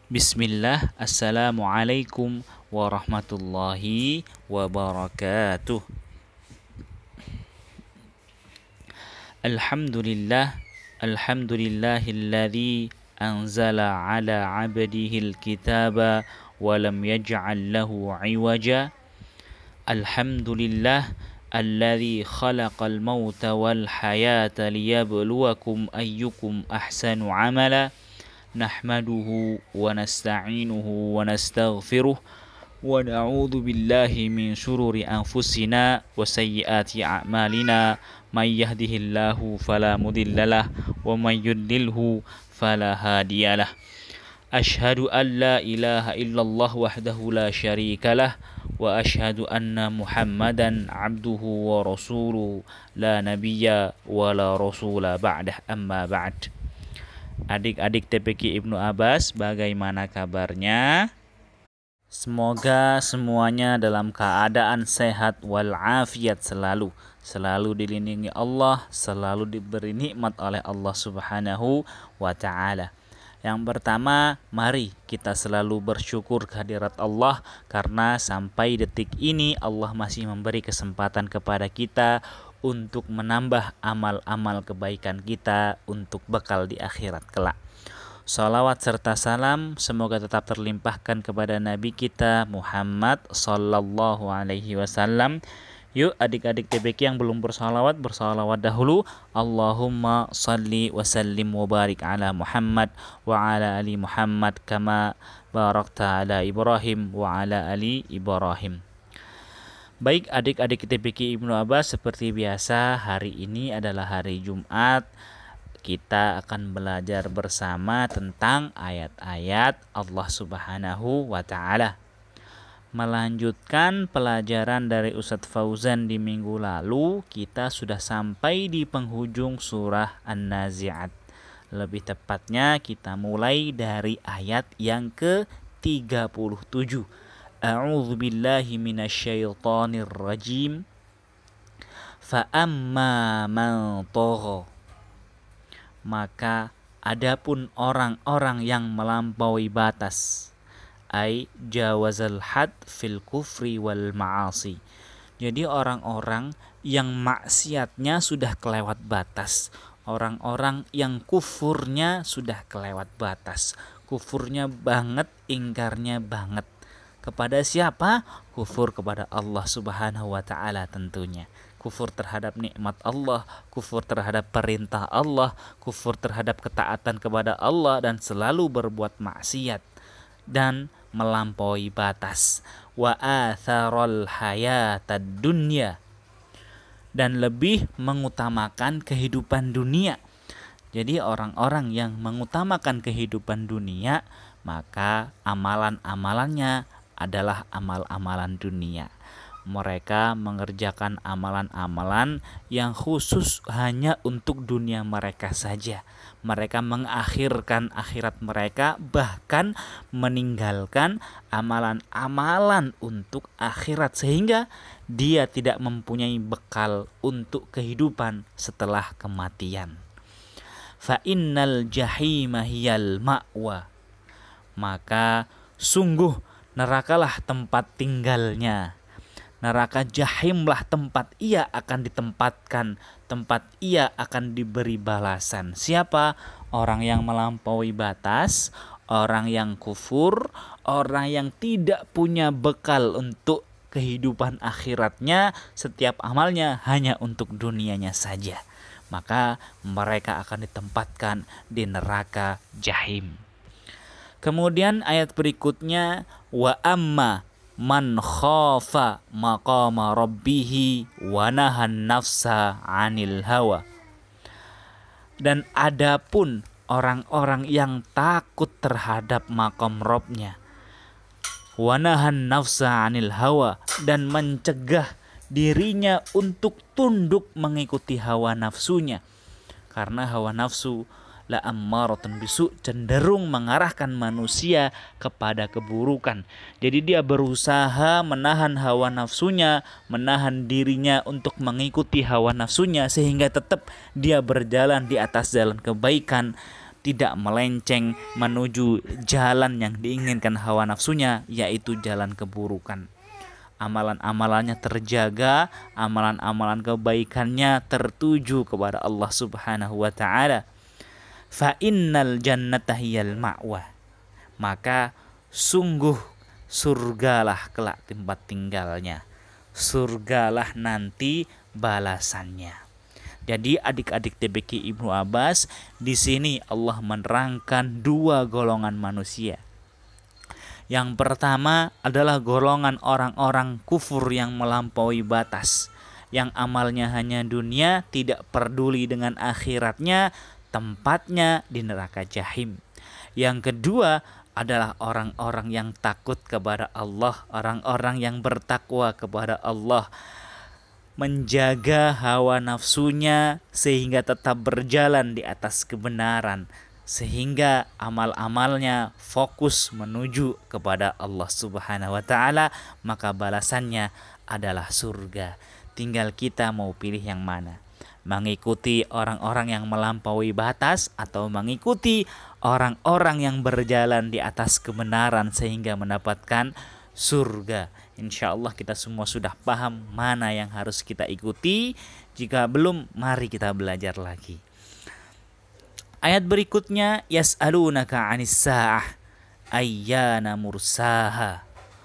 Bismillah, Assalamualaikum warahmatullahi wabarakatuh. Alhamdulillah, alhamdulillahilladzi anzala ala abdihil kitaba wa lam yaj'al lahu iwaja. Alhamdulillah, alladzi khalaqal mauta wal hayata liyabluwakum ayyukum ahsanu amala. Nahmaduhu wa nasta'inuhu wa nastaghfiruh wa na'udzu billahi min syururi anfusina wa sayyiati a'malina may yahdihillahu fala mudhillalah wa may yudlilhu fala hadiyalah. Asyhadu an la ilaha illallah wahdahu la syarikalah wa asyhadu anna Muhammadan abduhu wa rasuluhu la nabiyya wa la rasula ba'dah, amma ba'd. Adik-adik TPQ Ibnu Abbas, bagaimana kabarnya? Semoga semuanya dalam keadaan sehat walafiat selalu dilindungi Allah, selalu diberi nikmat oleh Allah Subhanahu wa taala. Yang pertama, mari kita selalu bersyukur kehadirat Allah karena sampai detik ini Allah masih memberi kesempatan kepada kita untuk menambah amal-amal kebaikan kita untuk bekal di akhirat kelak. Salawat serta salam semoga tetap terlimpahkan kepada Nabi kita Muhammad sallallahu alaihi wasallam. Yuk adik-adik TPQ yang belum bersalawat dahulu. Allahumma salli wa sallim wa barik ala Muhammad wa ala ali Muhammad kama barakta ala Ibrahim wa ala ali Ibrahim. Baik adik-adik TPQ Ibnu Abbas, seperti biasa hari ini adalah hari Jumat. Kita akan belajar bersama tentang ayat-ayat Allah Subhanahu wa taala. Melanjutkan pelajaran dari Ustadz Fauzan di minggu lalu, kita sudah sampai di penghujung surah An-Nazi'at. Lebih tepatnya kita mulai dari ayat yang ke-37. A'udzu billahi minasyaitonir rajim. Fa amma man tagha, maka adapun orang-orang yang melampaui batas, ai jawazal had fil kufri wal ma'asi. Jadi orang-orang yang maksiatnya sudah kelewat batas, orang-orang yang kufurnya sudah kelewat batas, kufurnya banget, ingkarnya banget. Kepada siapa? Kufur kepada Allah Subhanahu wa taala tentunya. Kufur terhadap nikmat Allah, kufur terhadap perintah Allah, kufur terhadap ketaatan kepada Allah dan selalu berbuat maksiat dan melampaui batas. Wa atharal hayatad dunya, dan lebih mengutamakan kehidupan dunia. Jadi orang-orang yang mengutamakan kehidupan dunia, maka amalan-amalannya adalah amal-amalan dunia. Mereka mengerjakan amalan-amalan yang khusus hanya untuk dunia mereka saja. Mereka mengakhirkan akhirat mereka, bahkan meninggalkan amalan-amalan untuk akhirat, sehingga dia tidak mempunyai bekal untuk kehidupan setelah kematian. Fa innal jahima hiyal ma'wa, maka sungguh nerakalah tempat tinggalnya. Neraka jahimlah tempat ia akan ditempatkan, tempat ia akan diberi balasan. Siapa? Orang yang melampaui batas, orang yang kufur, orang yang tidak punya bekal untuk kehidupan akhiratnya, setiap amalnya hanya untuk dunianya saja. Maka mereka akan ditempatkan di neraka jahim. Kemudian ayat berikutnya, wa amma man khafa maqama rabbihi wa nahan nafsa 'anil hawa. Dan adapun orang-orang yang takut terhadap maqam Rabbnya, wa nahan nafsa 'anil hawa, dan mencegah dirinya untuk tunduk mengikuti hawa nafsunya. Karena hawa nafsu la ammaratun bisu, cenderung mengarahkan manusia kepada keburukan. Jadi dia berusaha menahan hawa nafsunya, menahan dirinya untuk mengikuti hawa nafsunya, sehingga tetap dia berjalan di atas jalan kebaikan, tidak melenceng menuju jalan yang diinginkan hawa nafsunya, yaitu jalan keburukan. Amalan-amalannya terjaga, amalan-amalan kebaikannya tertuju kepada Allah Subhanahu wa taala. Fa innal jannata hiyal ma'wa. Maka sungguh surgalah kelak tempat tinggalnya. Surgalah nanti balasannya. Jadi adik-adik TBK Ibnu Abbas, di sini Allah menerangkan dua golongan manusia. Yang pertama adalah golongan orang-orang kufur yang melampaui batas, yang amalnya hanya dunia, tidak peduli dengan akhiratnya, tempatnya di neraka jahim. Yang kedua adalah orang-orang yang takut kepada Allah, orang-orang yang bertakwa kepada Allah, menjaga hawa nafsunya sehingga tetap berjalan di atas kebenaran, sehingga amal-amalnya fokus menuju kepada Allah Subhanahu wa taala, maka balasannya adalah surga. Tinggal kita mau pilih yang mana. Mengikuti orang-orang yang melampaui batas atau mengikuti orang-orang yang berjalan di atas kebenaran sehingga mendapatkan surga. Insya Allah kita semua sudah paham mana yang harus kita ikuti. Jika belum, mari kita belajar lagi. Ayat berikutnya, yas'alunaka 'anis sa'ah ayyana mursaha.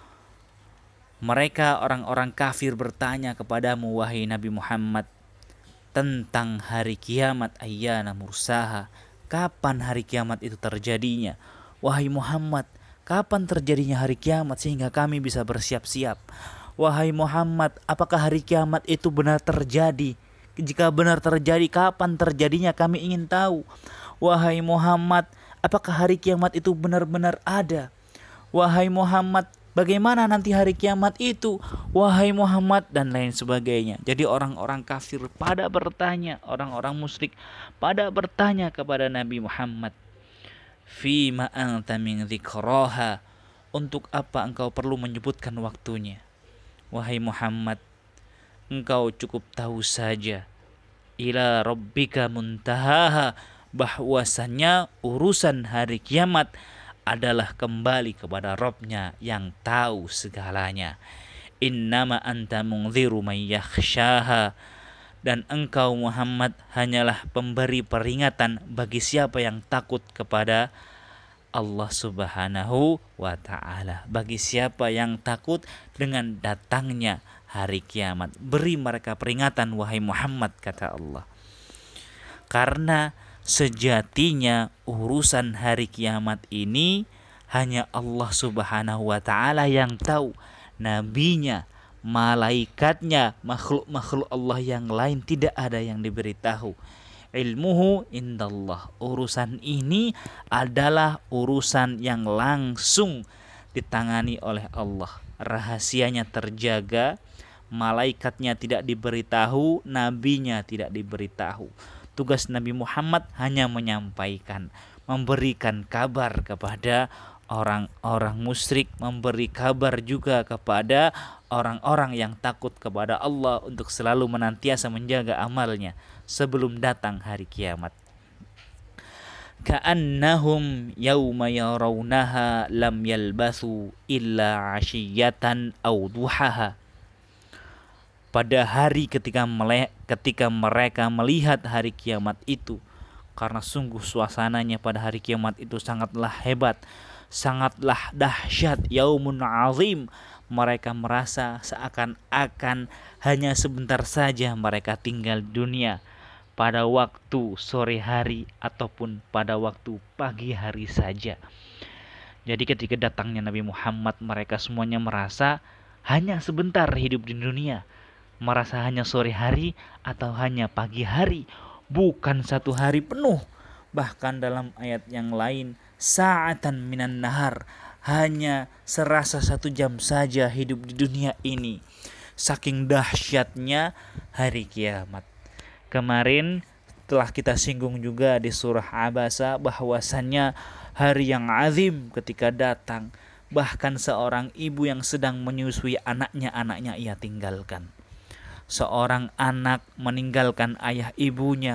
Mereka orang-orang kafir bertanya kepadamu wahai Nabi Muhammad tentang hari kiamat, ayyana mursaha. Kapan hari kiamat itu terjadinya? Wahai Muhammad, kapan terjadinya hari kiamat sehingga kami bisa bersiap-siap? Wahai Muhammad, apakah hari kiamat itu benar terjadi? Jika benar terjadi, kapan terjadinya? Kami ingin tahu. Wahai Muhammad, apakah hari kiamat itu benar-benar ada? Wahai Muhammad, bagaimana nanti hari kiamat itu? Wahai Muhammad, dan lain sebagainya. Jadi orang-orang kafir pada bertanya, orang-orang musyrik pada bertanya kepada Nabi Muhammad, Fima anta min dzikraha, untuk apa engkau perlu menyebutkan waktunya? Wahai Muhammad, engkau cukup tahu saja, ila rabbika muntahaha, bahwasannya urusan hari kiamat adalah kembali kepada Rabb-Nya yang tahu segalanya. Innama anta mungdziru may yakhshaha, dan engkau Muhammad hanyalah pemberi peringatan bagi siapa yang takut kepada Allah Subhanahu wa ta'ala, bagi siapa yang takut dengan datangnya hari kiamat. Beri mereka peringatan wahai Muhammad, kata Allah. Karena sejatinya urusan hari kiamat ini hanya Allah Subhanahu wa ta'ala yang tahu. Nabinya, malaikatnya, makhluk-makhluk Allah yang lain tidak ada yang diberitahu. Ilmuhu indallah. Urusan ini adalah urusan yang langsung ditangani oleh Allah. Rahasianya terjaga, malaikatnya tidak diberitahu, nabinya tidak diberitahu. Tugas Nabi Muhammad hanya menyampaikan, memberikan kabar kepada orang-orang musyrik, memberi kabar juga kepada orang-orang yang takut kepada Allah untuk selalu menantiasa menjaga amalnya sebelum datang hari kiamat. Ka'annahum yawma yarawnaha lam yalbathu illa 'ashiyatan aw duhaha. Pada hari ketika mereka melihat hari kiamat itu, karena sungguh suasananya pada hari kiamat itu sangatlah hebat, sangatlah dahsyat, yaumun azim. Mereka merasa seakan-akan hanya sebentar saja mereka tinggal di dunia, pada waktu sore hari ataupun pada waktu pagi hari saja. Jadi ketika datangnya Nabi Muhammad, mereka semuanya merasa hanya sebentar hidup di dunia, merasa hanya sore hari atau hanya pagi hari, bukan satu hari penuh. Bahkan dalam ayat yang lain, sa'atan minan nahar, hanya serasa 1 jam saja hidup di dunia ini. Saking dahsyatnya hari kiamat. Kemarin telah kita singgung juga di surah Abasa bahwasannya hari yang azim ketika datang. Bahkan seorang ibu yang sedang menyusui anaknya ia tinggalkan. Seorang anak meninggalkan ayah ibunya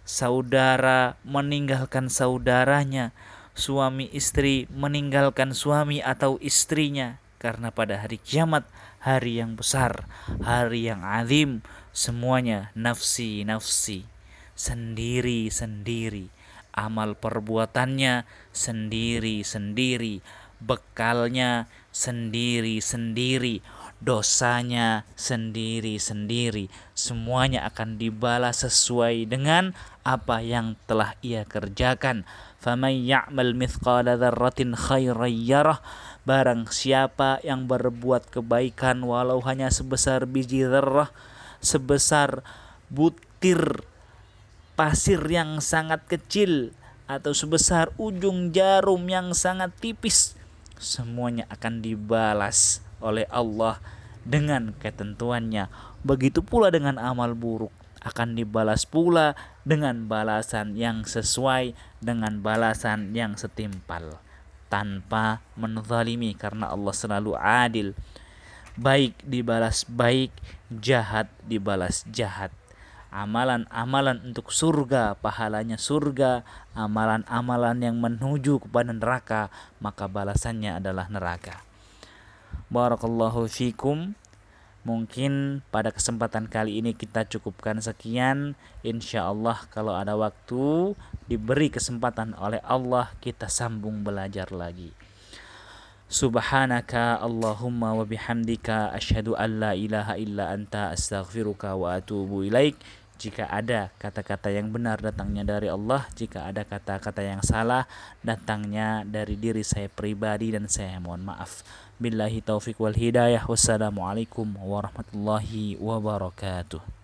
saudara meninggalkan saudaranya, suami istri meninggalkan suami atau istrinya. Karena pada hari kiamat, hari yang besar, hari yang azim, semuanya nafsi nafsi, sendiri-sendiri, amal perbuatannya sendiri-sendiri, bekalnya sendiri-sendiri, dosanya sendiri-sendiri. Semuanya akan dibalas sesuai dengan apa yang telah ia kerjakan. Faman ya'mal mithqala dzarratin khairan yarah. Barang siapa yang berbuat kebaikan walau hanya sebesar biji zarrah, sebesar butir pasir yang sangat kecil, atau sebesar ujung jarum yang sangat tipis, semuanya akan dibalas oleh Allah dengan ketentuannya. Begitu pula dengan amal buruk, akan dibalas pula dengan balasan yang sesuai, dengan balasan yang setimpal, tanpa menzalimi, karena Allah selalu adil. Baik dibalas baik, jahat dibalas jahat. Amalan-amalan untuk surga, pahalanya surga. Amalan-amalan yang menuju kepada neraka, maka balasannya adalah neraka. Barakallahu fikum. Mungkin pada kesempatan kali ini kita cukupkan sekian. Insya Allah kalau ada waktu, diberi kesempatan oleh Allah, kita sambung belajar lagi. Subhanaka Allahumma wa bihamdika asyhadu an la ilaha illa anta astaghfiruka wa atubu ilaik. Jika ada kata-kata yang benar datangnya dari Allah, jika ada kata-kata yang salah datangnya dari diri saya pribadi, dan saya mohon maaf. Billahi taufiq wal hidayah. Wassalamualaikum warahmatullahi wabarakatuh.